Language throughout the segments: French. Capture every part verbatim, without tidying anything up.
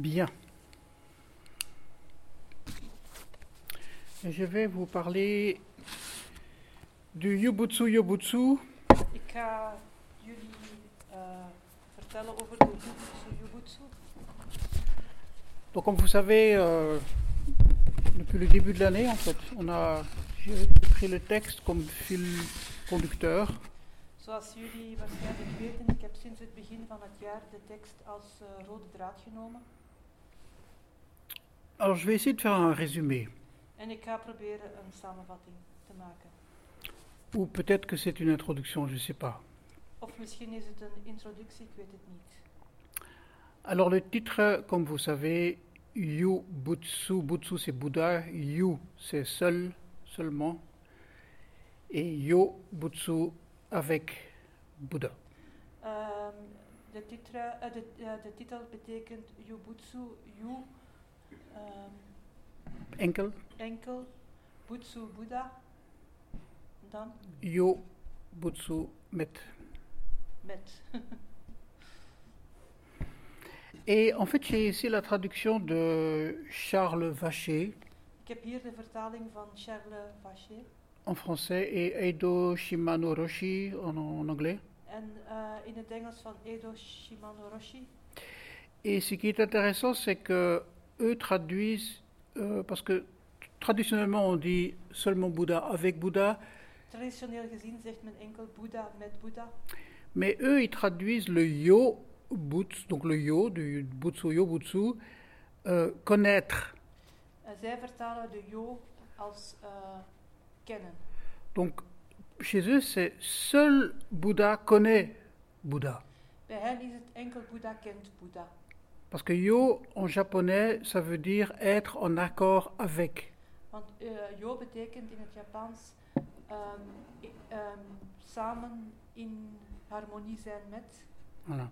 Bien. Je vais vous parler du Yubutsu Yobutsu. Ik ga jullie uh, vertellen over de Yubutsu Yubutsu. Donc, comme vous savez, euh, depuis le début de l'année, en fait, on a j'ai pris le texte comme fil conducteur. Zoals jullie waarschijnlijk weten, ik heb sinds het begin van het jaar de tekst als uh, rode draad genomen. Alors, je vais essayer de faire un résumé. En ik ga proberen een samenvatting te maken. Ou peut-être que c'est une introduction, je ne sais pas. Of misschien is het een introductie, ik weet het niet. Alors, le titre, comme vous savez, Yubutsu, Butsu c'est Bouddha, Yu c'est seul, seulement, et Yobutsu avec Bouddha. Um, de, titra, uh, de, uh, de titel betekent Yubutsu, Yu, um, Enkel. enkel, Butsu, Boeddha, dan? Yobutsu met. Met. Et en fait, j'ai ici la traduction de Charles Vacher. Ik heb hier de vertaling van Charles Vacher. En français et Eido Shimano Roshi en, en anglais. En uh, in het Engels van Eido Shimano Roshi. Et ce qui est intéressant, c'est que eux traduisent, euh, parce que traditionnellement on dit seulement Bouddha avec Bouddha. Traditioneel gezien zegt men enkel Boeddha met Boeddha. Mais eux, ils traduisent le yo butsu, donc le yo du butsu yo butsu, euh, connaître. Uh, zij vertalen de yo als uh, kennen. Donc chez eux, c'est seul Bouddha connaît Bouddha. Bij hen is het enkel Boeddha kent Boeddha. Parce que yo en japonais, ça veut dire être en accord avec. Want uh, yo betekent in het Japans um, i, um, samen in harmonie zijn met. Voilà.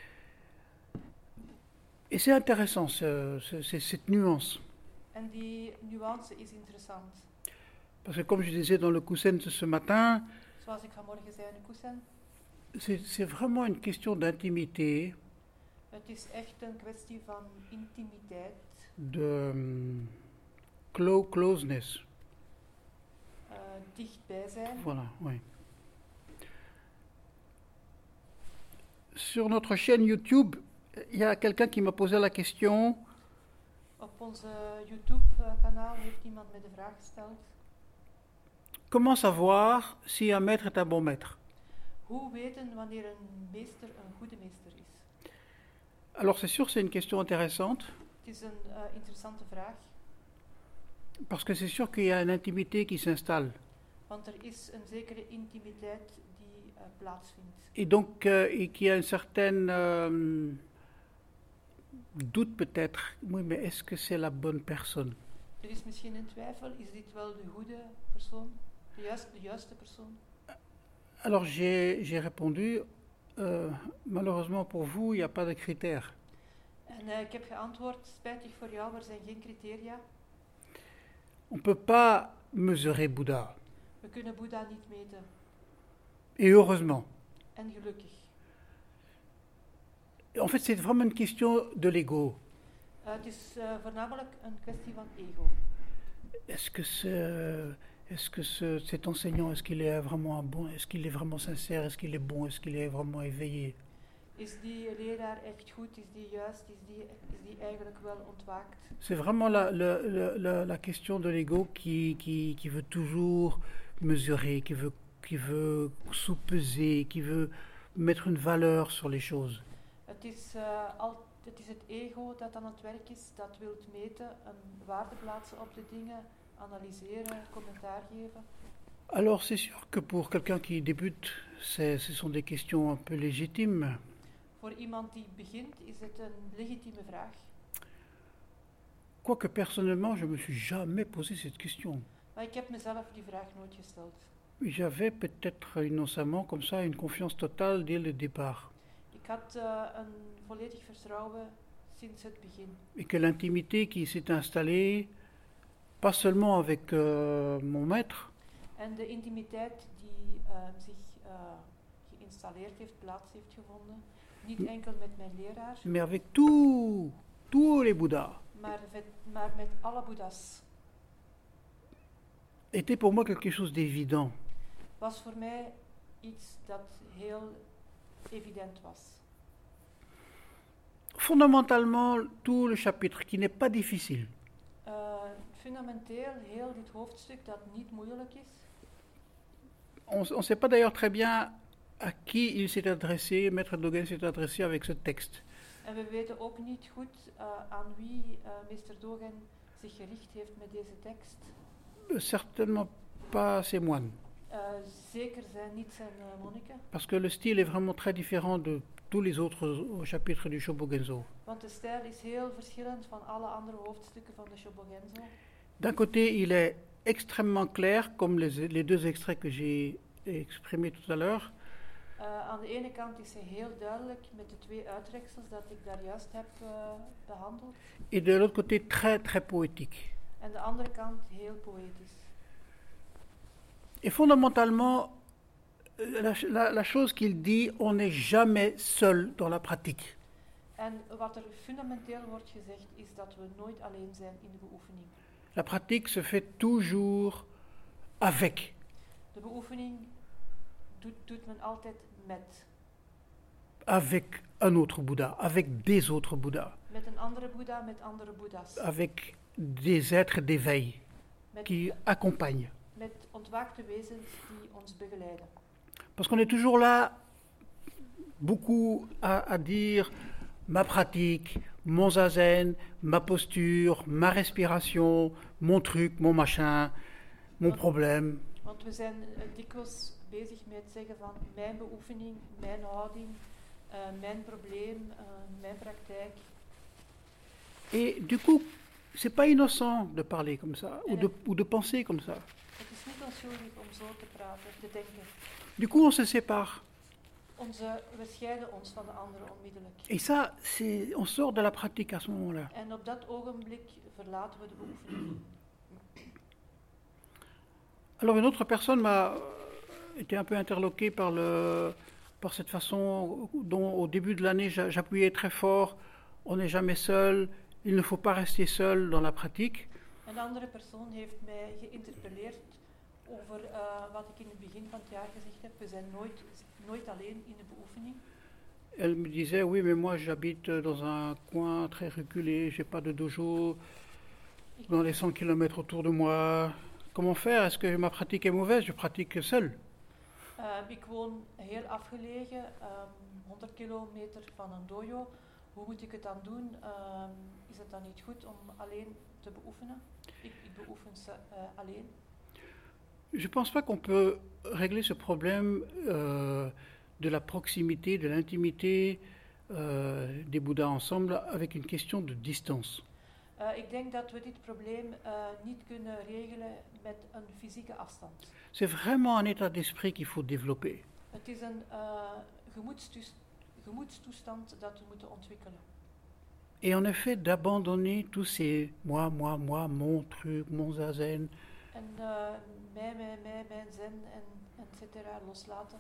Et c'est intéressant, ce, ce, c'est, cette nuance. En die nuance is interessant. Parce que comme je disais dans le Kusen ce matin, Zoals ik vanmorgen zei in de Kusen, c'est, c'est vraiment une question d'intimité, het is echt een kwestie van intimiteit, de um, clo- closeness. uh, dichtbij zijn. Voilà, oui. Sur notre chaîne YouTube, il y a quelqu'un qui m'a posé la question. Op onze YouTube-kanaal heeft iemand me de vraag gesteld. Comment savoir si un maître est un bon maître? Hoe weten wanneer een meester een goede meester is? Alors c'est sûr, c'est une question intéressante, Het is een uh, interessante vraag, parce que c'est sûr qu'il y a une intimité qui s'installe. want er is een zekere intimiteit die uh, plaatsvindt. Et donc, euh, et qu'il y a une certaine euh, doute peut-être, oui, mais est-ce que c'est la bonne personne? Er is misschien een twijfel, is dit wel de goede persoon, de juiste, de juiste persoon? Alors j'ai, j'ai répondu, euh, malheureusement pour vous, il n'y a pas de critères. En uh, ik heb geantwoord, spijtig voor jou, er zijn geen criteria. On ne peut pas mesurer Bouddha, We kunnen Boeddha niet meten. et heureusement. En gelukkig. En fait, c'est vraiment une question de l'ego. Uh, het is uh, voornamelijk een kwestie van ego. Est-ce que, ce, est-ce que ce, cet enseignant, est-ce qu'il est vraiment un bon, est-ce qu'il est vraiment sincère, est-ce qu'il est bon, est-ce qu'il est vraiment éveillé? Is die leraar echt goed? Is die juist? Is die, is die eigenlijk wel ontwaakt? C'est vraiment la, la, la, la, la question de l'ego qui, qui, qui veut toujours mesurer, qui veut, qui veut sous-peser, qui veut mettre une valeur sur les choses. Het is, uh, al, het is het ego dat aan het werk is, dat wil meten, een waarde plaatsen op de dingen, analyseren, commentaar geven. Alors c'est sûr que pour quelqu'un qui débute, c'est, ce sont des questions un peu légitimes. Voor iemand die begint is het een legitieme vraag. Quoique personnellement, je ne me suis jamais posé cette question. Maar ik heb mezelf die vraag nooit gesteld. J'avais peut-être innocemment comme ça une confiance totale dès le départ. Ik had uh, een volledig vertrouwen sinds het begin. Et que l'intimité qui s'est installée, pas seulement avec euh, mon maître, En de intimiteit die uh, zich uh, geïnstalleerd heeft, plaats heeft gevonden, niet enkel met mijn leraar, mais avec tous tous les Bouddhas, maar, met, maar met alle boeddha's, était pour moi quelque chose d'évident. was voor mij iets dat heel evident was. Fondamentalement, tout le chapitre, qui n'est pas difficile, Uh, fundamenteel, heel dit hoofdstuk dat niet moeilijk is. on ne sait pas d'ailleurs très bien à qui il s'est adressé, Maître Dogen s'est adressé avec ce texte. En we weten ook niet goed uh, aan wie uh, meester Dogen zich gericht heeft met deze tekst. Euh, Certainement pas ses moines, Uh, zeker zijn niet zijn uh, monniken, parce que le style est vraiment très différent de tous les autres chapitres du Shobogenzo. want de stijl is heel verschillend van alle andere hoofdstukken van de Shobogenzo. D'un côté, il est extrêmement clair, comme les, les deux extraits que j'ai exprimés tout à l'heure, Uh, aan de ene kant is hij heel duidelijk met de twee uittreksels dat ik daar juist heb uh, behandeld. et de l'autre côté, très très poétique. En de andere kant heel poëtisch. Et fondamentalement, la, la, la chose qu'il dit, on n'est jamais seul dans la pratique. En wat er fundamenteel wordt gezegd is dat we nooit alleen zijn in de beoefening. La pratique se fait toujours avec. De beoefening doet, doet men altijd met. Avec un autre Bouddha, avec des autres Bouddhas, Met een andere Boeddha, met andere Boeddha's. avec des êtres d'éveil Met, qui accompagnent. met ontwaakte wezens die ons begeleiden. Parce qu'on est toujours là, beaucoup à, à dire ma pratique, mon zazen, ma posture, ma respiration, mon truc, mon machin, mon problème. Want we zijn uh, dikwijls bezig met zeggen van mijn beoefening, mijn houding, uh, mijn probleem, uh, mijn praktijk. Et du coup, c'est pas innocent de parler comme ça, ou de, ou de penser comme ça. Het is niet onschuldig om zo te praten, te denken. Du coup, on se sépare. Onze, we scheiden ons van de anderen onmiddellijk. Et ça, c'est, on sort de la pratique à ce moment-là. En op dat ogenblik verlaten we de beoefening. Alors une autre personne m'a été un peu interloquée par, le, par cette façon dont au début de l'année j'a- j'appuyais très fort, on n'est jamais seul, il ne faut pas rester seul dans la pratique. Een andere persoon heeft mij geïnterpelleerd over uh, wat ik in het begin van het jaar gezegd heb. We zijn nooit, nooit alleen in de beoefening. Elle me disait, oui mais moi j'habite dans un coin très reculé, j'ai pas de dojo Ik, dans les cent kilomètres autour de moi. Comment faire? Est-ce que ma pratique est mauvaise? Je pratique seul. uh, ik woon heel afgelegen, um, honderd kilometer van een dojo. Hoe moet ik het dan doen? Um, is het dan niet goed om alleen te beoefenen? Ik, ik beoefen ze, uh, alleen. Je ne pense pas qu'on peut régler ce problème euh, de la proximité, de l'intimité euh, des Bouddhas ensemble avec une question de distance. Uh, ik denk dat we dit probleem uh, niet kunnen regelen met een fysieke afstand. C'est vraiment un état d'esprit qu'il faut développer. Het is een uh, gemoedstoes- gemoedstoestand dat we moeten ontwikkelen. Et en effet, d'abandonner tous ces moi, moi, moi, mon truc, mon zazen. En uh, mij, mij, mij, mijn zen en et cetera loslaten.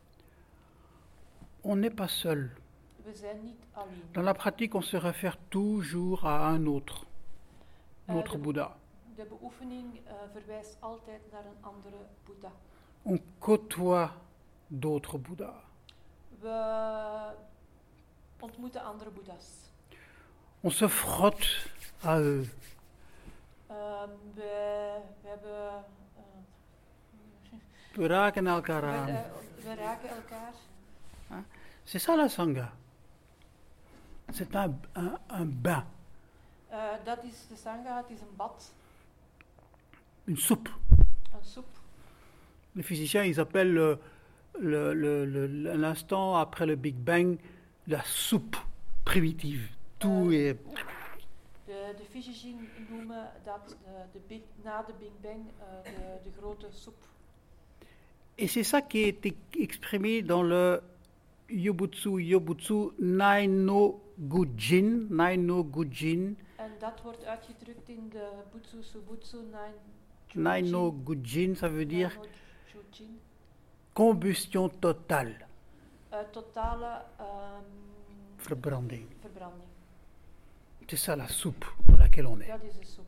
On n'est pas seul. We zijn niet alleen. Dans la pratique, on se réfère toujours à un autre, Uh, notre de, Bouddha. de beoefening uh, verwijst altijd naar een andere Boeddha. On côtoie d'autres Bouddhas. We ontmoeten andere Boeddha's. On se frotte à eux. Um, we, we hebben... Uh, We raken elkaar we, aan. uh, we raken elkaar. C'est ça la Sangha. C'est un, un, un bain, Uh, dat is de sangha, het is een bad, une soupe. een soep. Les physiciens, ils appellent le, le, le, le, l'instant après le Big Bang la soupe primitive. Tout Euh, est... De, de fysici noemen dat de, de big, na de Big Bang uh, de, de grote soep. Et c'est ça qui est exprimé dans le Yobutsu Yobutsu Nai no Gujin, Nai no Gujin, En dat wordt uitgedrukt in de Butsu Subutsu Nine Nai no Gujin, ça veut dire Nine no Jujin. combustion totale, Uh, totale um, verbranding. verbranding. C'est ça la soupe dans laquelle on est. Dat is de soep.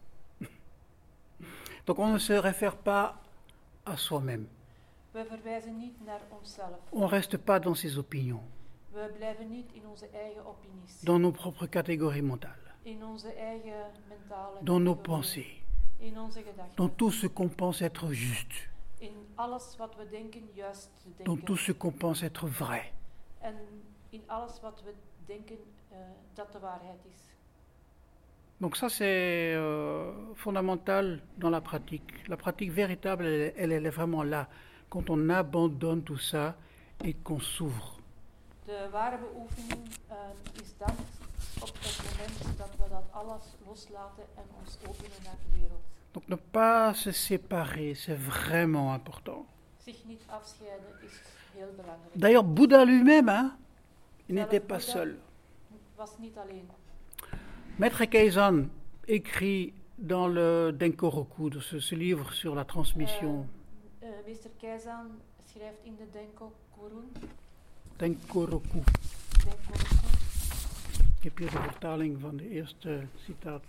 Donc on ne se réfère pas à soi-même. We verwijzen niet naar onszelf. On ne reste pas dans ses opinions, We blijven niet in onze eigen opinies. dans nos propres catégories mentales, In onze eigen mentale dans nos categorieën. pensées, In onze gedachten. dans tout ce qu'on pense être juste, In alles wat we denken juist te dans denken. tout ce qu'on pense être vrai. En in alles wat we denken uh, dat de waarheid is. Donc ça c'est euh, fondamental dans la pratique. La pratique véritable, elle, elle, elle est vraiment là, quand on abandonne tout ça et qu'on s'ouvre. De ware beoefening uh, is dan op het moment dat we dat alles loslaten en ons openen naar de wereld. Donc ne pas se séparer, c'est vraiment important. Zich niet afscheiden is heel belangrijk. D'ailleurs, Bouddha lui-même, hein, il Zelf n'était pas Boeddha seul. was niet alleen. Maître Keizan écrit dans le Denkoroku, de ce, ce livre sur la transmission, Uh, uh, meester Keizan schrijft in de Denko-Kurun, Denkoroku, Denko-Kurun, ik heb hier de vertaling van de eerste citaat.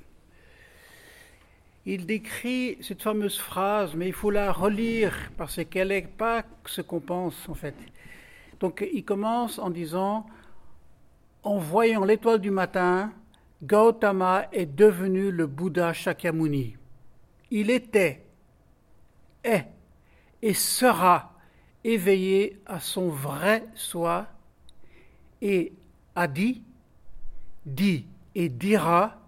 Il décrit cette fameuse phrase, mais il faut la relire parce qu'elle n'est pas ce qu'on pense en fait. Donc il commence en disant, en voyant l'étoile du matin, Gautama est devenu le Bouddha Shakyamuni. Il était, est et sera éveillé à son vrai soi et a dit, dit et dira,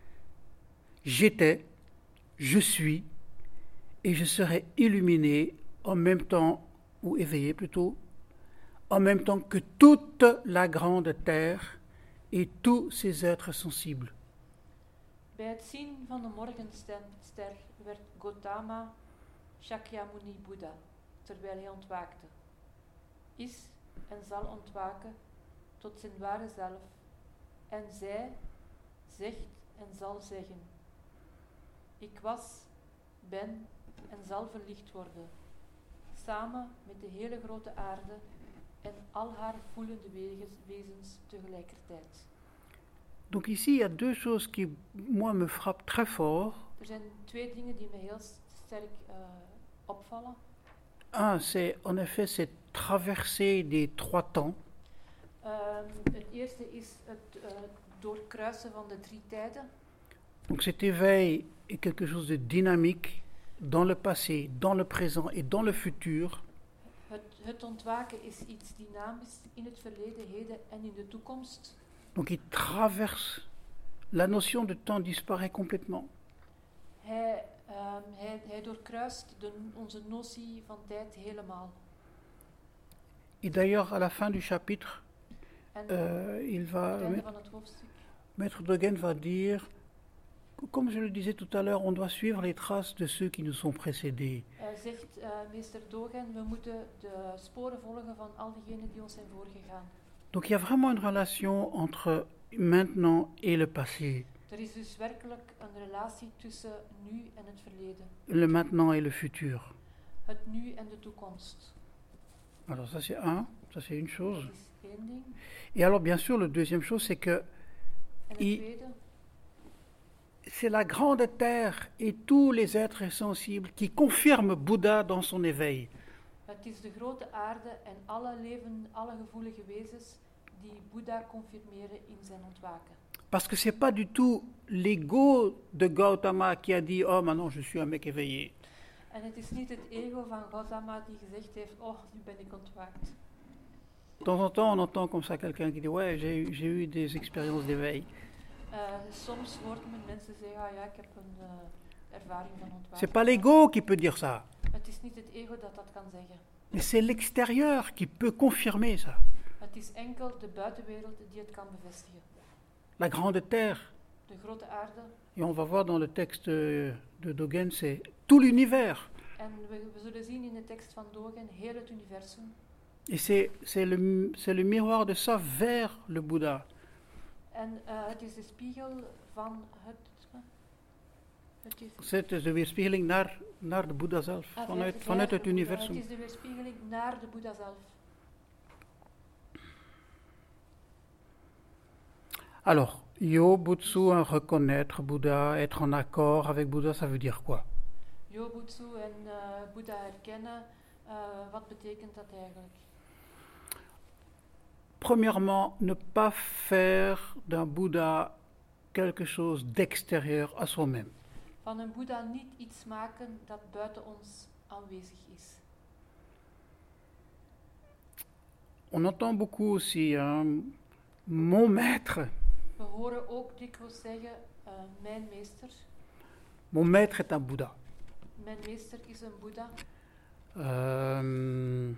j'étais, je suis et je serai illuminé en même temps, ou éveillé plutôt, en même temps que toute la grande terre et tous ses êtres sensibles. Bij het zien van de morgenster werd Gautama Shakyamuni Boeddha, terwijl hij ontwaakte. Is en zal ontwaken tot zijn ware zelf. En zij zegt en zal zeggen. Ik was, ben en zal verlicht worden. Samen met de hele grote aarde en al haar voelende wezens tegelijkertijd. Donc ici, il y a deux choses qui, moi, me frappent très fort. Er zijn twee dingen die me heel sterk uh, opvallen. Un, c'est en effet cette traversée des trois temps. Um, het eerste is het uh, doorkruisen van de drie tijden. Donc cet éveil est quelque chose de dynamique dans le passé, dans le présent et dans le futur. Het, het ontwaken is iets dynamisch in het verleden, heden en in de toekomst. Donc il traverse, la notion de temps disparaît complètement. Hij, um, hij, hij doorkruist de, onze notie van tijd helemaal. Et d'ailleurs, à la fin du chapitre, En euh, il va, het einde van het hoofdstuk Maître Dogen va dire, comme je le disais tout à l'heure, on doit suivre les traces de ceux qui nous ont précédés. uh, zegt uh, meester Dogen, we moeten de sporen volgen van al diegenen die ons zijn voorgegaan. Donc il y a vraiment une relation entre maintenant et le passé, Er is dus werkelijk een relatie tussen nu en het verleden. le maintenant et le futur. Het nu en de toekomst. Alors ça c'est un, ça c'est une chose. Dat is één ding. Et alors bien sûr, la deuxième chose, c'est que En het I- tweede, c'est la grande terre et tous les êtres sensibles qui confirment Bouddha dans son éveil. het is de grote aarde en alle leven, alle gevoelige wezens die Boeddha confirmeren in zijn ontwaken. Parce que c'est pas du tout l'ego de Gautama qui a dit « Oh, maintenant je suis un mec éveillé ». En het is niet het ego van Gautama die gezegd heeft, oh, nu ben ik ontwaakt. De temps en temps, on entend comme ça quelqu'un qui dit « Ouais, j'ai eu, j'ai eu des expériences d'éveil ». Uh, soms hoort men mensen zeggen, ah ja, ik heb een uh, ervaring van ontwaken. C'est pas l'ego qui peut dire ça, Het is niet het ego dat dat kan zeggen. mais c'est l'extérieur qui peut confirmer ça. Het is enkel de buitenwereld die het kan bevestigen. La grande terre, De grote aarde. et on va voir dans le texte de Dogen, c'est tout l'univers. En we, we zullen zien in de tekst van Dogen heel het universum. Et c'est, c'est, le, c'est le miroir de ça vers le Bouddha. En uh, het is de spiegel van het... Uh, het is, C'est de weerspiegeling naar, naar de Boeddha zelf, ah, vanuit, vers- vanuit vers het de Boeddha. universum. Het is de weerspiegeling naar de Boeddha zelf. Alors, Yobutsu, hein, reconnaître Bouddha, être en accord avec Bouddha, ça veut dire quoi? Yobutsu en uh, Boeddha herkennen, uh, wat betekent dat eigenlijk? Premièrement, ne pas faire d'un Bouddha quelque chose d'extérieur à soi-même. Van een Boeddha niet iets maken dat buiten ons aanwezig is. On entend beaucoup aussi hein, mon maître. We horen ook dikwijls zeggen, uh, mijn meester. Mon maître est un Bouddha. Mijn meester is een Boeddha. Euh,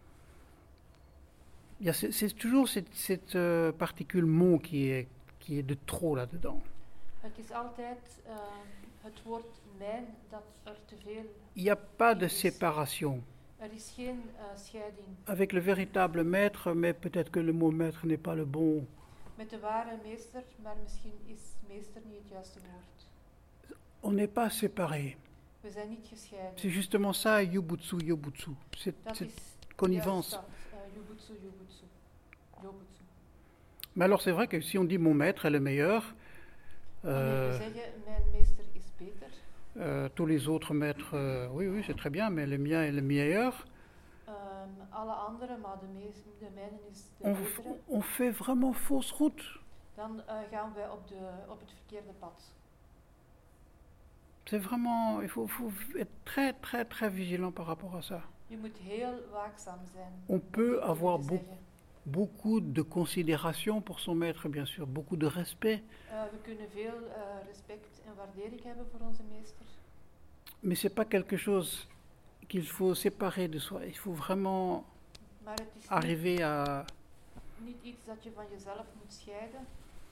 y a, c'est, c'est toujours cette, cette euh, particule mon qui est, qui est de trop là-dedans. Het is altijd uh, het woord mijn dat er te veel Il n'y a pas de is. séparation. Er is geen uh, scheiding. Avec le véritable maître, mais peut-être que le mot maître n'est pas le bon. Met de ware meester, maar misschien is meester niet het juiste woord. On n'est pas séparés. We zijn niet gescheiden. C'est justement ça, Yobutsu, Yobutsu. C'est, Dat c'est is connivence. juist dat, uh, Yobutsu, Yobutsu, Yobutsu. Mais alors c'est vrai que si on dit mon maître est le meilleur, Wanneer euh, we zeggen, mijn meester is beter, euh, tous les autres maîtres, euh, oui, oui, c'est très bien, mais le mien est le meilleur. um, alle anderen, maar de, mees, de mijne is de On, betere, on fait vraiment fausse route. dan uh, gaan wij op, de, op het verkeerde pad. C'est vraiment, il faut, faut être très, très, très vigilant par rapport à ça. Je moet heel waakzaam zijn. On peut om avoir te beaucoup, zeggen. beaucoup de considération pour son maître, bien sûr, beaucoup de respect, Uh, we kunnen veel uh, respect en waardering hebben voor onze meester. mais c'est pas quelque chose qu'il faut séparer de soi. Il faut vraiment Maar het is niet, arriver à... niet iets dat je van jezelf moet scheiden.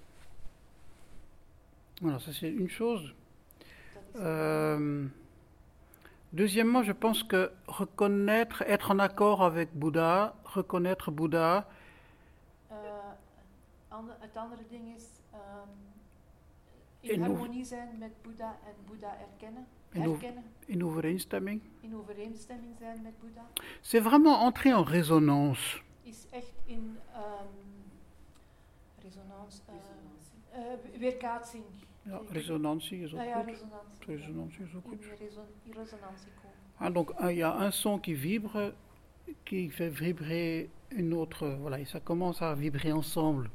Voilà, ça c'est une chose. Dat is Euh, deuxièmement, je pense que reconnaître, être en accord avec Bouddha, reconnaître Bouddha, Uh, ander, het andere ding is um, In in hoe- harmonie zijn met Boeddha en Boeddha erkennen, In hoe- herkennen, in overeenstemming, in overeenstemming zijn met Boeddha, c'est vraiment entrer en résonance. is echt in um, resonans, uh, uh, weerkaatsing. Ja, Tegen- résonantie is ook Ah ja, goed. resonantie. Résonantie is ook In goed. die reson, in resonantie komen. Ah, donc il y a un son qui vibre, qui fait vibrer une autre, voilà, et ça commence à vibrer ensemble.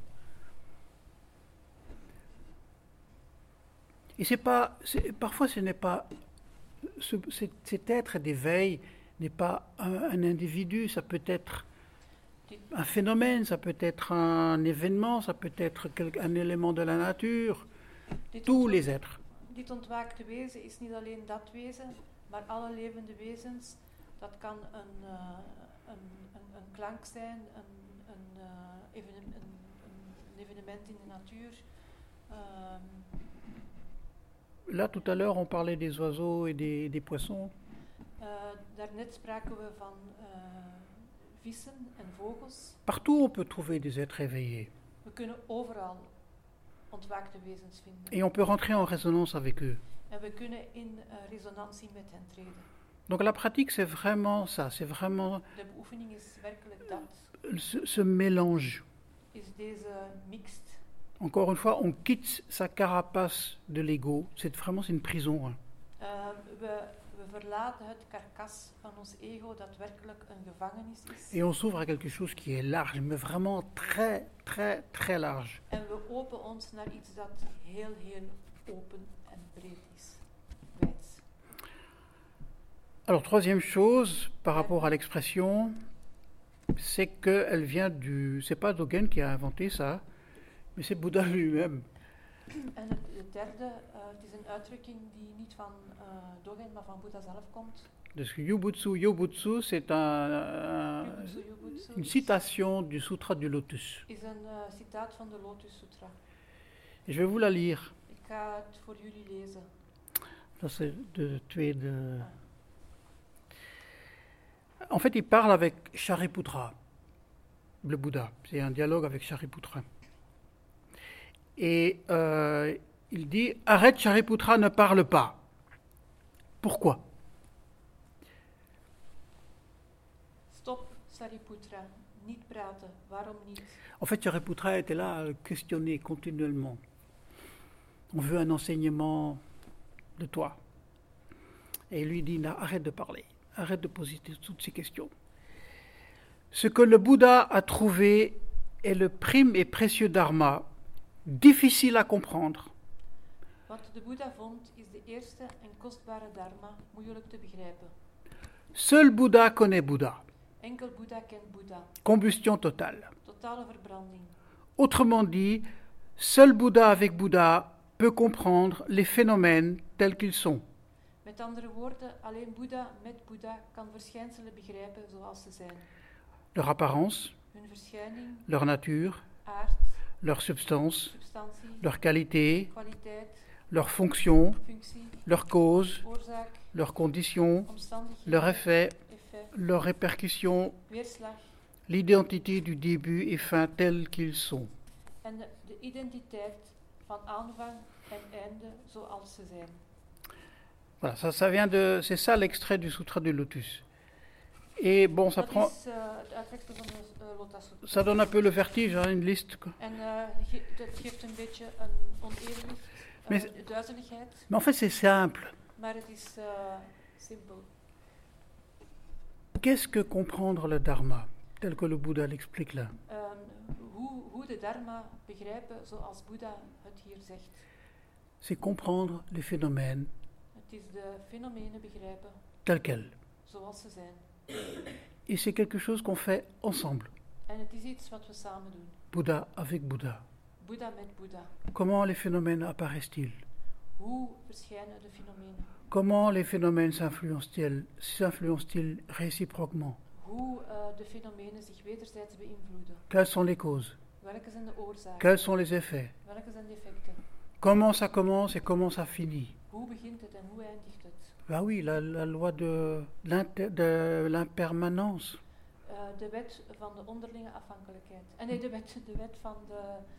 Et c'est pas, c'est, parfois ce n'est pas, ce, cet, cet être d'éveil n'est pas un, un individu, ça peut être Dit, un phénomène, ça peut être un événement, ça peut être quel- un élément de la nature, dit, tous ontwa- les êtres. dit ontwaakte wezen is niet alleen dat wezen, maar alle levende wezens. Dat kan een, uh, een, een, een klank zijn, een, een, uh, evenem- een, een evenement in de natuur. Um, Là, tout à l'heure, on parlait des oiseaux et des, des poissons. uh, daarnet spraken we van uh, vissen en vogels. Partout, on peut trouver des êtres éveillés. We kunnen overal ontwaakte wezens vinden. Et on peut rentrer en résonance avec eux. En we kunnen in uh, resonantie met hen treden. Donc la pratique, c'est vraiment ça, c'est vraiment De beoefening is werkelijk dat. ce, ce mélange. Is deze mixed. Encore une fois, on quitte sa carapace de l'ego. C'est vraiment c'est une prison. Hein. Uh, we, we verlaten het karkas van ons ego dat werkelijk een gevangenis is. Et on s'ouvre à quelque chose qui est large, mais vraiment très, très, très large. En we openen ons naar iets dat heel, heel open en breed is. Wijd. Alors, troisième chose, par rapport à l'expression, c'est qu'elle vient du... C'est pas Dogen qui a inventé ça, mais c'est Bouddha lui-même. En het, het derde, uh, het is een uitdrukking die niet van uh, Dogen, maar van Boeddha zelf komt. Parce que Yubutsu, Yobutsu, c'est un, un- Yubutsu, Yubutsu une is- citation du Sutra du Lotus. is een uh, citaat van de Lotus Sutra. Et je vais vous la lire. Ik ga het voor jullie lezen. Ça, c'est de tweede... Ah. En fait, il parle avec Shariputra, le Bouddha. C'est un dialogue avec Shariputra. Et euh, il dit, arrête Shariputra, ne parle pas. Pourquoi? Stop, Sariputra. Niet praten. Waarom niet? En fait, Shariputra était là à le questionner continuellement. On veut un enseignement de toi. Et il lui dit, non, arrête de parler, arrête de poser toutes ces questions. Ce que le Bouddha a trouvé est le prime et précieux dharma, difficile à comprendre. Wat de Boeddha vond is de eerste en kostbare dharma, moeilijk te begrijpen. Seul Bouddha connaît Bouddha. Enkel Boeddha kent Boeddha. Combustion totale. Totale verbranding. Autrement dit, seul Bouddha avec Bouddha peut comprendre les phénomènes tels qu'ils sont. Met andere woorden, alleen Boeddha met Boeddha kan verschijnselen begrijpen zoals ze zijn. Leur apparence, Hun verschijning, leur nature, aard, leur substance, substantie, leur qualité, kwaliteit, leur fonction, functie, leur cause, oorzaak, leurs conditions, omstandigheden, leur effet, effect, leurs répercussions, weerslag l'identité du début et fin tels qu'ils sont. en de, de identiteit van aanvang en einde zoals ze zijn. Voilà, ça, ça vient de, c'est ça l'extrait du Sutra du Lotus. Et bon, ça Dat prend, is uh, het uittreksel van de uh, Lotus Sutra. ça donne un peu le vertige, hein, une liste. quoi. En uh, ge- dat geeft een beetje een onevenwicht, uh, Mais- duizeligheid, Mais en fait, c'est simple. maar het is uh, simpel. Qu'est-ce que comprendre le Dharma, tel que le Bouddha l'explique là? Um, hoe, hoe de dharma begrijpen zoals Boeddha het hier zegt. C'est comprendre les phénomènes Het is de fenomenen begrijpen tels quels. zoals ze zijn. Et c'est quelque chose qu'on fait ensemble. En het is iets wat we samen doen. Bouddha avec Bouddha. Boeddha met Boeddha. Comment les phénomènes apparaissent-ils? Hoe verschijnen de fenomenen? Comment les phénomènes s'influencent-ils, s'influencent-ils réciproquement? Hoe uh, de fenomenen zich wederzijds beïnvloeden? Quelles sont les causes? Welke zijn de oorzaken? Quels sont les effets? Welke zijn de effecten? Comment ça commence et comment ça finit? Hoe begint het en hoe eindigt het? Bah oui, la, la loi de, l'inter- de l'impermanence. Uh, de wet van de onderlinge afhankelijkheid. En nee, de wet, de wet van de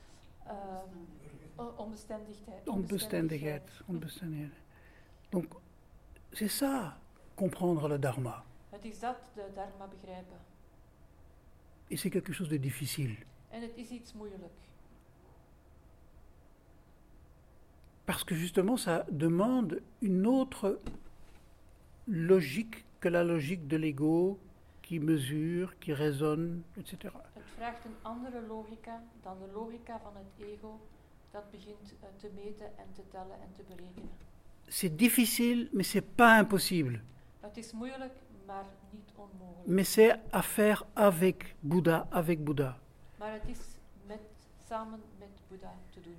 uh, onbestendigheid. Onbestendigheid. Onbestendigheid. Donc, c'est ça, comprendre le Dharma. Het is dat, de dharma begrijpen. Et c'est quelque chose de difficile. En het is iets moeilijk. Parce que justement, ça demande une autre logique que la logique de l'ego qui mesure, qui raisonne, et cetera. Het vraagt een andere logica dan de logica van het ego dat begint uh, te meten en te tellen en te berekenen. C'est difficile, mais c'est pas impossible. Het is moeilijk, maar niet onmogelijk. Mais c'est à faire avec Bouddha, avec Bouddha. Maar het is met, samen met Boeddha te doen.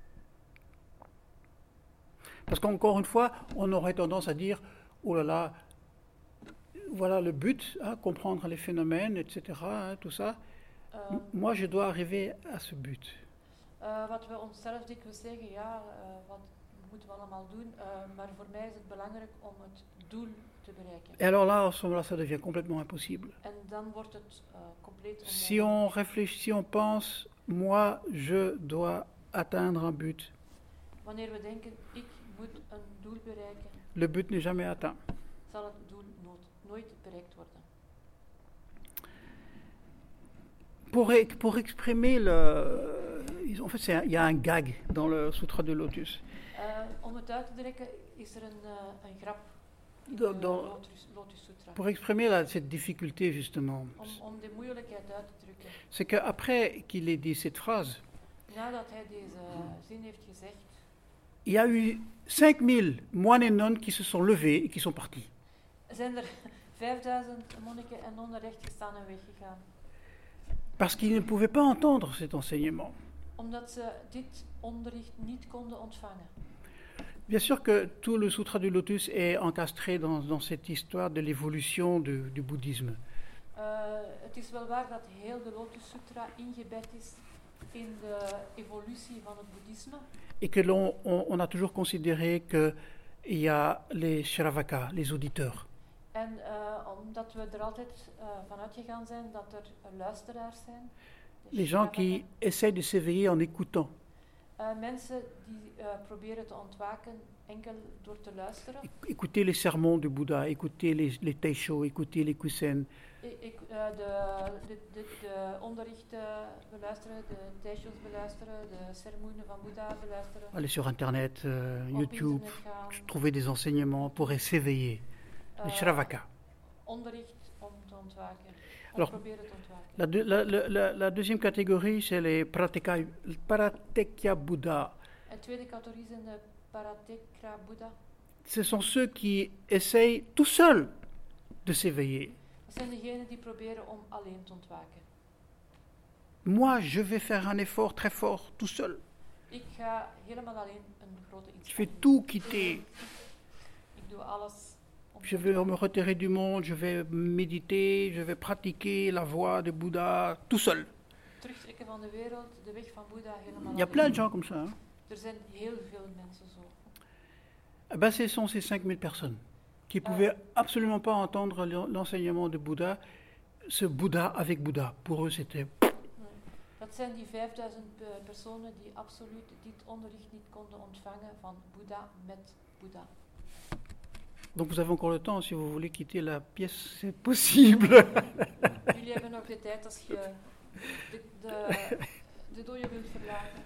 Parce qu'encore une fois, on aurait tendance à dire, oh là là, voilà le but, hein, comprendre les phénomènes, et cetera, hein, tout ça. Uh, M- Moi, je dois arriver à ce but. uh, wat we onszelf dikwijls zeggen, ja, uh, wat moeten we allemaal doen, uh, maar voor mij is het belangrijk om het doel te bereiken. Et alors là, à ce moment-là, ça devient complètement impossible. En dan wordt het uh, compleet Si onmogelijk. on réfléchit, si on pense, moi, je dois atteindre un but, Wanneer we denken, ik moet een doel bereiken, le but n'est jamais atteint. zal het doel nood, nooit bereikt worden. Pour, e- pour exprimer le... En fait, c'est un- il y a un gag dans le Sutra de Lotus. Uh, om het uit te drukken is er een, uh, een grap in Dans- de dans- Lotus, Lotus Sutra. Pour exprimer la- cette difficulté, justement, Om, om de moeilijkheid uit te drukken. c'est qu'après qu'il ait dit cette phrase, Nadat hij deze zin heeft gezegd, il y a eu cinq mille moines et nonnes qui se sont levés et qui sont partis. zijn er vijfduizend monniken en nonnen rechtgestaan en weggegaan. Parce qu'ils ne pouvaient pas entendre cet enseignement. Omdat ze dit onderricht niet konden ontvangen. Bien sûr que tout le Sutra du Lotus est encastré dans, dans cette histoire de l'évolution du, du bouddhisme. Uh, het is wel waar dat heel de Lotus Sutra ingebed is in de evolutie van het boeddhisme. Et que l'on on, on a toujours considéré qu'il y a les Shravaka, les auditeurs. En uh, omdat we er altijd uh, van uitgegaan zijn dat er uh, luisteraars zijn. de Les gens Shravaka. qui essayent de s'éveiller en écoutant. Uh, mensen die uh, proberen te ontwaken enkel door te luisteren. Écoutez les sermons du Bouddha, écoutez les, les Taisho, écoutez les Kusen. Ik, ik, uh, de, de, de, de onderrichten beluisteren, de teisho's beluisteren, de sermoenen van Boeddha beluisteren. Allez sur Internet, euh, Op YouTube, internet gaan. trouver des enseignements pour s'éveiller. Uh, Le Shravaka. Onderricht om te ontwaken. Om Alors, proberen te ontwaken. La, deux- la, la, la, la deuxième catégorie, c'est les Pratika, Pratekya Buddha. En tweede categorie zijn de Paratekra Boeddha. Ce sont ceux qui essayent tout seuls de s'éveiller. Dat zijn degenen die proberen om alleen te ontwaken. Moi, je vais faire un effort très fort, tout seul. Ik ga helemaal alleen een grote Je vais inspanning. tout quitter. Ik doe alles om te Je vais me ontwaken. retirer du monde, je vais méditer, je vais pratiquer la voie de Bouddha, tout seul. Terugtrekken van de wereld, de weg van Boeddha helemaal Il y a alleen. plein de gens comme ça. Hein. Er zijn heel veel mensen zo. Eh ben, ce sont ces cinq mille personnes qui Ah. pouvaient absolument pas entendre l'en- l'enseignement de Bouddha, ce Bouddha avec Bouddha. Pour eux, c'était... Nee. Dat zijn die vijfduizend uh, personen die absoluut dit onderricht niet konden ontvangen van Boeddha met Boeddha. Donc vous avez encore le temps, si vous voulez quitter la pièce, c'est possible. Jullie hebben nog de tijd als je de, de, de dojo wilt verlaten.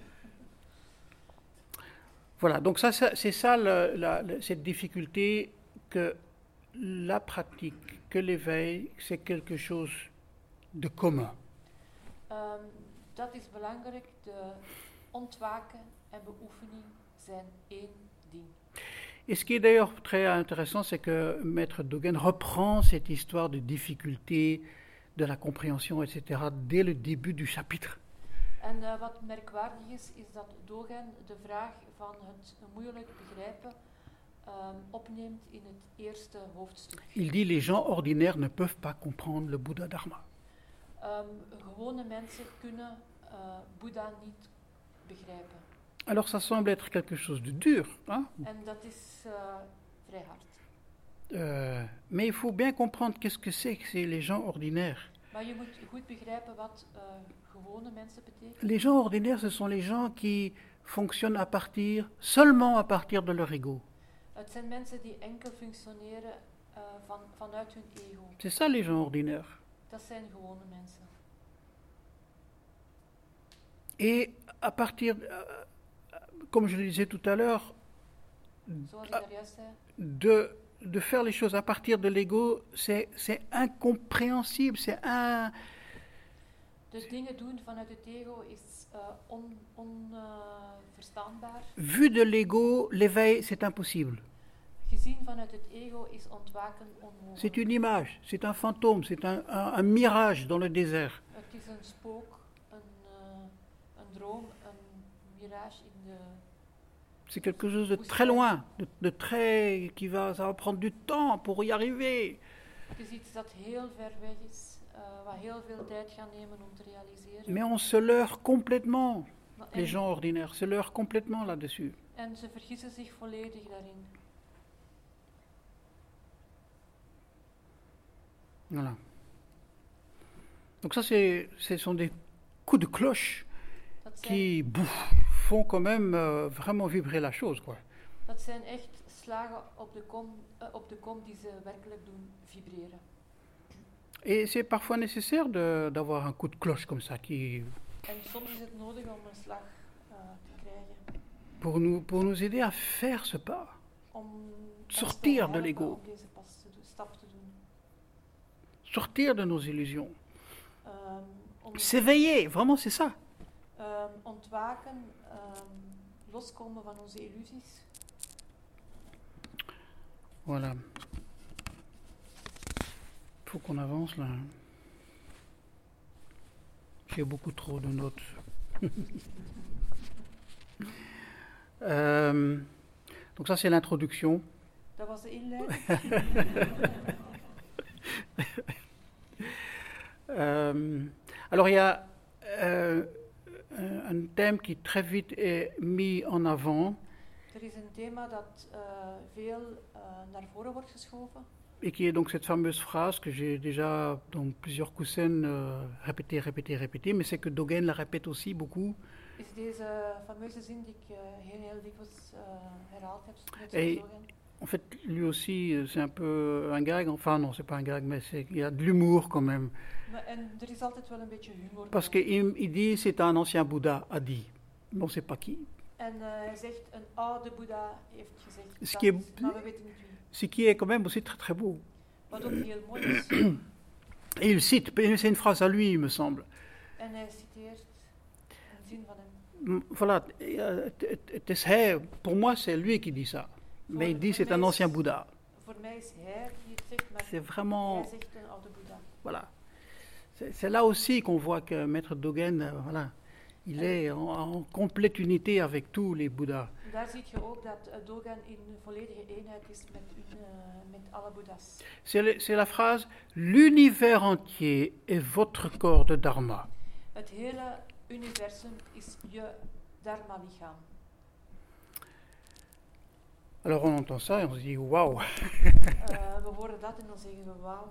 Voilà, donc ça, ça- c'est ça le- la- le- cette difficulté que la pratique, que l'éveil, c'est quelque chose de commun. Um, dat is belangrijk. De ontwaken en beoefening zijn één ding. Et ce qui est d'ailleurs très intéressant, c'est que Maître Dogen reprend cette histoire de difficulté, de la compréhension, et cetera, dès le début du chapitre. En uh, wat merkwaardig is, is dat Dogen de vraag van het moeilijk begrijpen um, opneemt in het eerste hoofdstuk. Il dit les gens ordinaires ne peuvent pas comprendre le Bouddha Dharma. Um, gewone mensen kunnen uh, Boeddha niet begrijpen. Alors ça semble être quelque chose de dur, hein? En dat is uh, vrij hard. Euh, mais il faut bien comprendre qu'est-ce que c'est que c'est les gens ordinaires. Maar je moet goed begrijpen wat uh, gewone mensen betekent. Les gens ordinaires, ce sont les gens qui fonctionnent à partir, seulement à partir de leur ego. Het zijn mensen die enkel functioneren uh, van, vanuit hun ego. C'est ça les gens ordinaires. Dat zijn gewone mensen. Et à partir, euh, comme je le disais tout à l'heure, Zoals ik daar juist zei. de, de faire les choses à partir de l'ego, c'est, c'est incompréhensible, c'est un... De dingen doen vanuit het ego is onverstaanbaar. Uh, Vu de l'ego, l'éveil, c'est impossible. Gezien vanuit het ego is ontwaken onmogelijk. C'est une image, c'est un fantôme, c'est un, un, un mirage dans le désert. Het is een spook, een, uh, een droom, een mirage in de... C'est quelque chose de très loin, de, de très... qui va, ça va prendre du temps pour y arriver. Het is iets dat heel ver weg is, uh, wat heel veel tijd gaat nemen om te realiseren. Mais on se leurre complètement, Maar les en, gens ordinaires, se leurrent complètement là-dessus. en ze vergissen zich volledig daarin. Voilà. Donc ça, c'est, ce sont des coups de cloche Dat zijn, qui bouf, font quand même euh, vraiment vibrer la chose, quoi. dat zijn echt slagen op de, kom, uh, op de kom die ze werkelijk doen vibreren. Et c'est parfois nécessaire de, d'avoir un coup de cloche comme ça, qui, En soms is het nodig om een slag uh, te krijgen. pour, nous, pour nous aider à faire ce pas. Om ons Sortir te de helpen l'ego. om deze pas te doen, stap te doen. Sortir de nos illusions. Um, om S'éveiller, vraiment c'est ça. um, ontwaken, um, loskomen van onze illusies. Voilà. Il faut qu'on avance là. J'ai beaucoup trop de notes. euh, donc ça c'est l'introduction. Dat was de inleiding. Euh, alors il y a euh, un thème qui très vite est mis en avant. Er is een thema dat uh, veel uh, naar voren wordt geschoven. et qui est donc cette fameuse phrase que j'ai déjà dans plusieurs coussins euh, répétée, répétée, répétée, mais c'est que Dogen la répète aussi beaucoup. Is deze fameuze zin die ik uh, heel, heel dikwijls uh, herhaald heb met Et Dogen. en fait, lui aussi, euh, c'est un peu un gag. Enfin, non, c'est pas un gag, mais c'est, il y a de l'humour quand même. Maar, en er is altijd wel een beetje humor Parce bij. qu'il il dit c'est un ancien Bouddha a dit. Mais on ne sait pas qui. En uh, hij zegt, een oude Boeddha heeft gezegd Ce dat, qui est, maar we weten niet wie. ce qui est quand même aussi très très beau. Wat ook heel mooi is. Et il cite, c'est une phrase à lui, il me semble. En hij citeert een zin van hem. M- Voilà, euh, het- het- het is hij, pour moi c'est lui qui dit ça. Mais il dit c'est un ancien Bouddha. Voor mij is hij die het zegt, maar C'est vraiment, hij zegt een oude Boeddha. voilà. C'est, c'est là aussi qu'on voit que Maître Dogen, euh, voilà, il est en, en complète unité avec tous les Bouddhas. Daar zie je ook dat uh, Dogen in volledige eenheid is met, uh, met alle Boeddha's. C'est, le- c'est la phrase « L'univers entier est votre corps de Dharma Het hele universum is je dharma-lichaam. ». Alors on entend ça et on se dit « Waouh !» Uh, we horen dat en dan zeggen we wauw.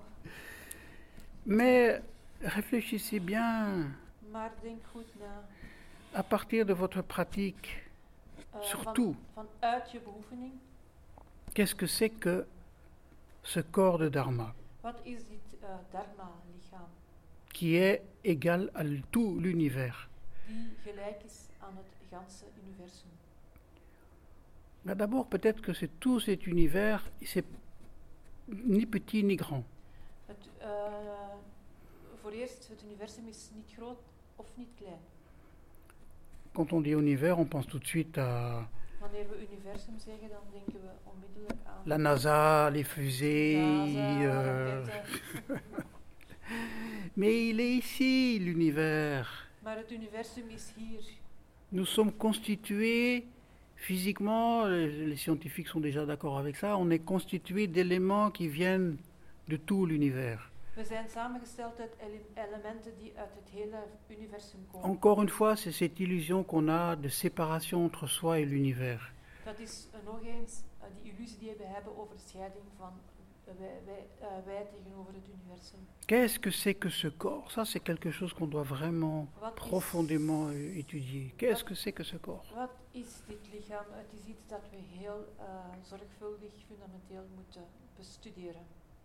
Mais réfléchissez bien, Maar denk goed na. à partir de votre pratique, Uh, surtout, van, vanuit je beoefening, qu'est-ce que c'est que ce corps de Dharma wat is dit uh, dharma-lichaam? qui est égal à l- tout l'univers? Die gelijk is aan het ganse universum. Ben d'abord, peut-être que c'est tout cet univers, c'est ni petit ni grand. Het, uh, voor eerst, het universum is niet groot of niet klein. Quand on dit univers, on pense tout de suite à Wanneer we universum zeggen, dan denken we onmiddellijk aan la NASA, les fusées. NASA, euh, raketten. Mais il est ici, l'univers. Maar het universum is hier. Nous sommes constitués physiquement, les, les scientifiques sont déjà d'accord avec ça, on est constitués d'éléments qui viennent de tout l'univers. We zijn samengesteld uit ele- elementen die uit het hele universum komen. Encore une fois, c'est cette illusion qu'on a de séparation entre soi et l'univers. Dat is uh, nog eens uh, die illusie die we hebben over de scheiding van uh, wij, wij, uh, wij tegenover het universum. Qu'est-ce que c'est que ce corps? Ça, c'est quelque chose qu'on doit vraiment Wat is, profondément euh, étudier. Qu'est-ce que c'est que ce corps? wat is dit lichaam? Het is iets dat we heel uh, zorgvuldig, fundamenteel moeten bestuderen.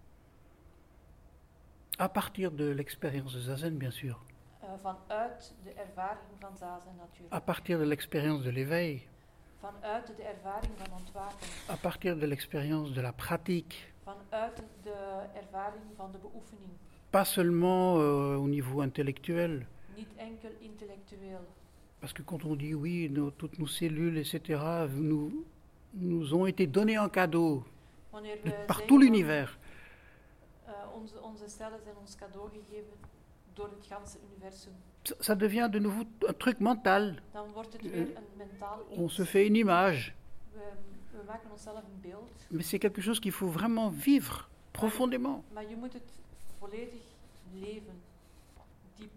À partir de l'expérience de Zazen, bien sûr. Uh, vanuit de ervaring van zazen natuurlijk. À partir de l'expérience de l'éveil. Vanuit de ervaring van ontwaken. À partir de l'expérience de la pratique. Vanuit de ervaring van de beoefening. Pas seulement euh, au niveau intellectuel. Niet enkel intellectueel. Parce que quand on dit oui, nos- toutes nos cellules, et cetera, nous, nous ont été données en cadeau Wanneer de- we par zeggen tout van, l'univers. uh, onze, onze cellen zijn ons cadeau gegeven door het ganse universum. Ça, ça devient de nouveau un truc mental. Dan wordt het Euh, weer een mentaal On iets. se fait une image. We, we maken onszelf een beeld, Mais c'est quelque chose qu'il faut vraiment vivre profondément. maar je moet het volledig leven, diep.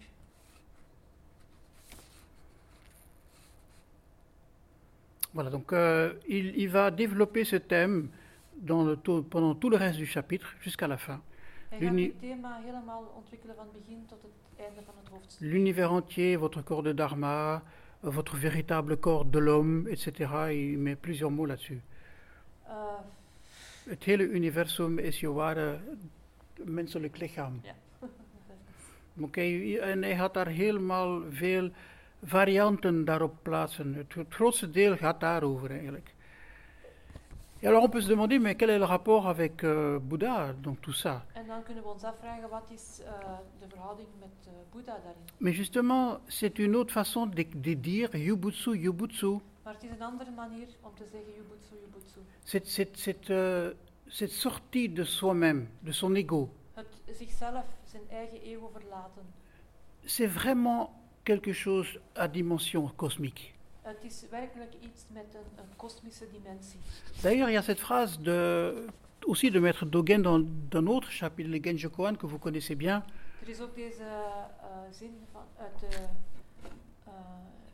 Voilà, donc euh, il, il va développer ce thème dans le tout- pendant tout le reste du chapitre jusqu'à la fin. Hij gaat L'uni- dit thema helemaal ontwikkelen van het begin tot het einde van het hoofdstuk. L'univers entier, votre corps de Dharma, euh, votre véritable corps de l'homme, et cetera. Il met plusieurs mots là-dessus. Uh, Het hele universum is je ware menselijk lichaam. ja. Oké, en hij had daar helemaal veel varianten daarop plaatsen. Het, het grootste deel gaat daarover eigenlijk. Et alors on peut se demander, mais quel est le rapport avec euh, Bouddha dans tout ça? En dan kunnen we ons afvragen, wat is uh, de verhouding met uh, Boeddha daarin? Mais justement, c'est une autre façon de, de dire Yubutsu, Yubutsu. Maar het is een andere manier om te zeggen Jubutsu, Jubutsu. Cette, cette, cette, euh, cette sortie de soi-même, de son ego. Het zichzelf, zijn eigen ego verlaten. C'est vraiment quelque chose à dimension cosmique. Het is werkelijk iets met een, een kosmische dimensie. D'ailleurs, il y a cette phrase de, aussi de Maître Dogen dans, dans un autre chapitre, le Genjo Koan, que vous connaissez bien. Er is ook deze uh, zin van, uit de uh,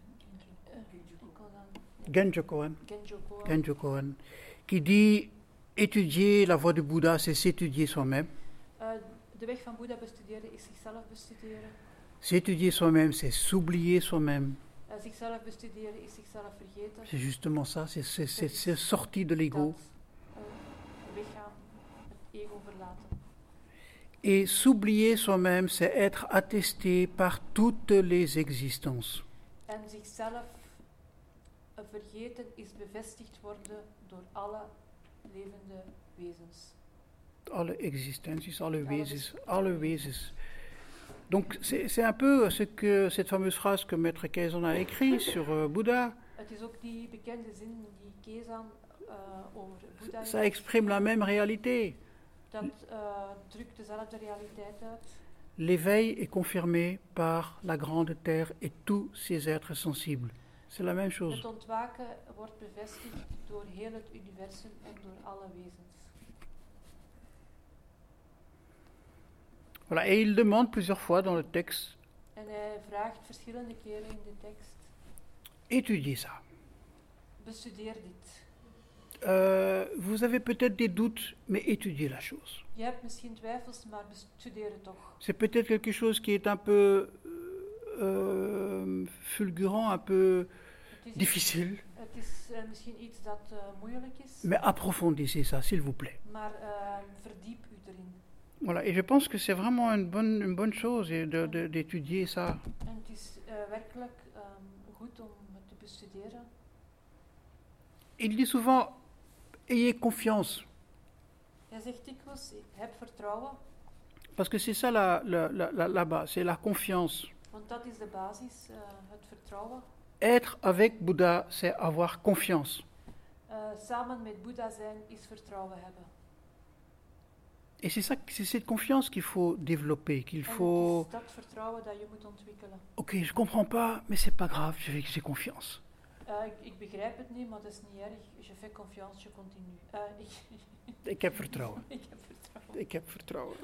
uh, ik kon dan- Genjo Koan. Genjo Koan. Genjo Koan, qui dit Étudier la voie du Bouddha, c'est s'étudier soi-même. Uh, de weg van Boeddha bestuderen is zichzelf bestuderen. S'étudier soi-même, c'est s'oublier soi-même. Uh, zichzelf bestuderen is zichzelf vergeten. C'est justement ça, c'est, c'est, c'est, c'est sorti de l'ego. Dat, uh, weggaan, het ego verlaten. Et s'oublier soi-même, c'est être attesté par toutes les existences. En zichzelf uh, vergeten is bevestigd worden door alle levende wezens. Alle existenties, alle wezens, alle wezens. Donc c'est, c'est un peu ce que, cette fameuse phrase que Maître Kaizen a écrite sur euh, Bouddha. Het is ook die bekende zin die Kezan uh, over Boeddha Ça exprime la même réalité. dat uh, drukt dezelfde realiteit uit. L'éveil est confirmé par la grande terre et tous ses êtres sensibles. C'est la même chose. Het ontwaken wordt bevestigd door heel het universum en door alle wezens. Voilà, et il demande plusieurs fois dans le texte, En hij vraagt verschillende keren in de tekst, étudiez ça. bestudeer dit. Euh, vous avez peut-être des doutes, mais étudiez la chose. Je hebt misschien twijfels, maar bestudeer het toch. C'est peut-être quelque chose qui est un peu euh, fulgurant, un peu Het is, difficile, het is uh, misschien iets dat uh, moeilijk is, mais approfondissez ça, s'il vous plaît. maar uh, verdiep u erin. Voilà, et je pense que c'est vraiment une bonne, une bonne chose et de, de, d'étudier ça. En het is uh, werkelijk um, goed om het te bestuderen. Il dit souvent, ayez confiance, Hij zegt dikwijls, heb vertrouwen, parce que c'est ça la, la, la, la, la base, c'est la confiance. want dat is de basis, uh, het vertrouwen. Être avec Bouddha, c'est avoir confiance. Uh, samen met Boeddha zijn is vertrouwen hebben. Et c'est ça, c'est cette confiance qu'il faut développer, qu'il En faut... het is dat vertrouwen dat je moet ontwikkelen. Ok, je comprends pas, mais c'est pas grave, j'ai, j'ai confiance. Uh, ik, ik begrijp het niet, maar dat is niet erg. Je fais confiance, je continue. Uh, ik, Ik heb vertrouwen. ik heb vertrouwen. Ik heb vertrouwen.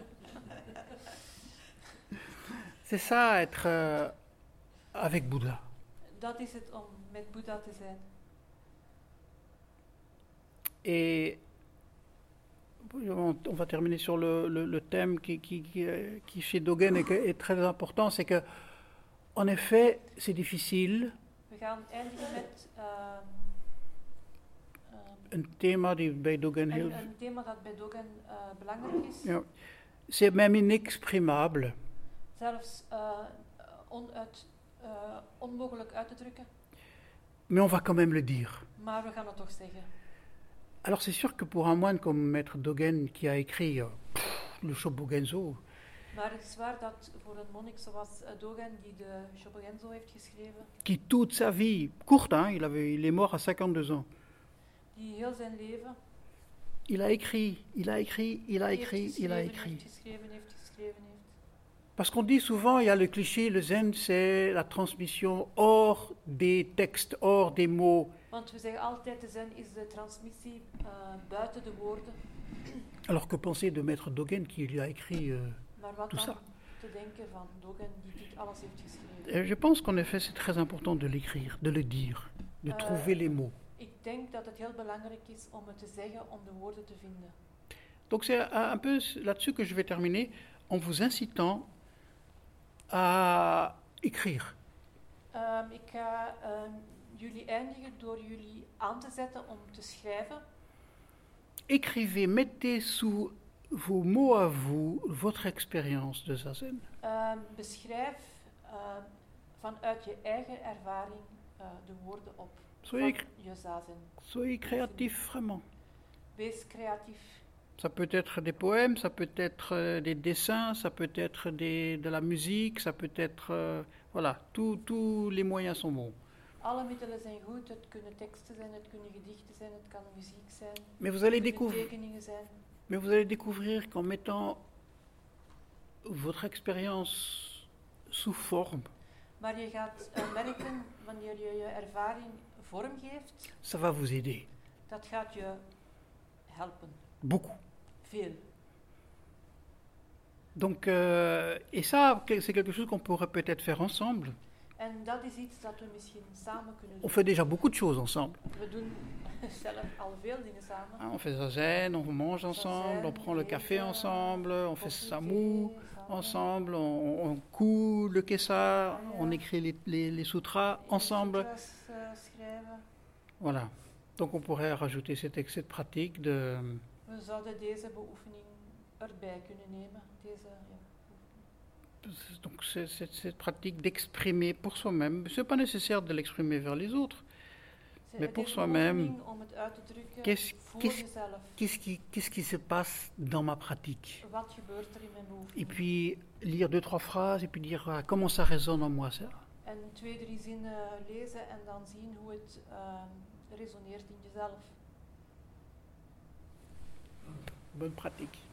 C'est ça, être euh, avec Bouddha. Dat is het om met Boeddha te zijn. Et on, on va terminer sur le, le, le thème qui, qui, qui, qui chez Dogen est, est très important, c'est que, en effet, c'est difficile. We gaan eindigen met uh, uh, Een thema die bij Dogen heel... een, een thema dat bij Dogen uh, belangrijk is. Ja, c'est même inexprimable. Zelfs uh, onuit, uh, onmogelijk uit te drukken. Mais on va quand même le dire. Maar we gaan het toch zeggen. Alors c'est sûr que pour un moine comme Maître Dogen qui a écrit euh, pff, le Shobogenzo, Maar het is waar dat voor een monnik zoals uh, Dogen, die de Shobogenzo heeft geschreven, qui toute sa vie, courte, hein, il, avait, il est mort à cinquante-deux ans, die heel zijn leven il a écrit, il a écrit, il a heeft écrit, il a geschreven, écrit. heeft geschreven, heeft geschreven, heeft. Parce qu'on dit souvent, il y a le cliché, le zen, c'est la transmission hors des textes, hors des mots. Want we zeggen altijd, de zen is de transmissie uh, buiten de woorden. Alors que penser de Maître Dogen qui lui a écrit euh, Maar wat tout dan ça? te denken van Dogen, die dit alles heeft geschreven. Et je pense qu'en effet, c'est très important de l'écrire, de le dire, de Euh, trouver les mots. Ik denk dat het heel belangrijk is om het te zeggen, om de woorden te vinden. Donc c'est un un peu là-dessus que je vais terminer, en vous incitant à écrire. Um, ik ga um, jullie eindigen door jullie aan te zetten om te schrijven. Écrivez, mettez sous vos mots à vous votre expérience de zazen. Um, beschrijf um, vanuit je eigen ervaring uh, de woorden op Soyez, van je zazen. soyez créatif, vraiment. Wees creatief. Ça peut être des poèmes, ça peut être euh, des dessins, ça peut être des, de la musique, ça peut être... euh, voilà, tous tous les moyens sont bons. Alle middelen zijn goed. Het kunnen teksten zijn, het kunnen gedichten zijn, het kan muziek zijn. Mais vous allez, Het kunnen découvrir, tekeningen zijn. mais vous allez découvrir qu'en mettant votre expérience sous forme, Maar je gaat uh, merken, wanneer je je ervaring vormgeeft, ça va vous aider. dat gaat je helpen. Beaucoup. Veel. Donc, euh, et ça, que- c'est quelque chose qu'on pourrait peut-être faire ensemble. En dat is iets dat we misschien samen kunnen On doen. fait déjà beaucoup de choses ensemble. We doen zelf al veel dingen samen. Hein, on fait zazen, on mange ensemble, on prend le café ensemble, on fait samou ensemble, on, on coud le kessa, on écrit les, les, les sutras ensemble. Voilà. Donc on pourrait rajouter cet excès de pratique de... We zouden deze beoefening erbij kunnen nemen. Deze, ja. Donc c'est, c'est, cette pratique d'exprimer pour soi-même. C'est pas nécessaire de l'exprimer vers les autres. Mais pour soi-même, qu'est-ce, qu'est-ce, qu'est-ce, qui, qu'est-ce qui se passe dans ma pratique? Et puis lire deux, trois phrases et puis dire ah, comment ça résonne en moi ça. En twee, drie zinnen lezen en dan zien hoe het uh, resoneert in jezelf. Bonne pratique.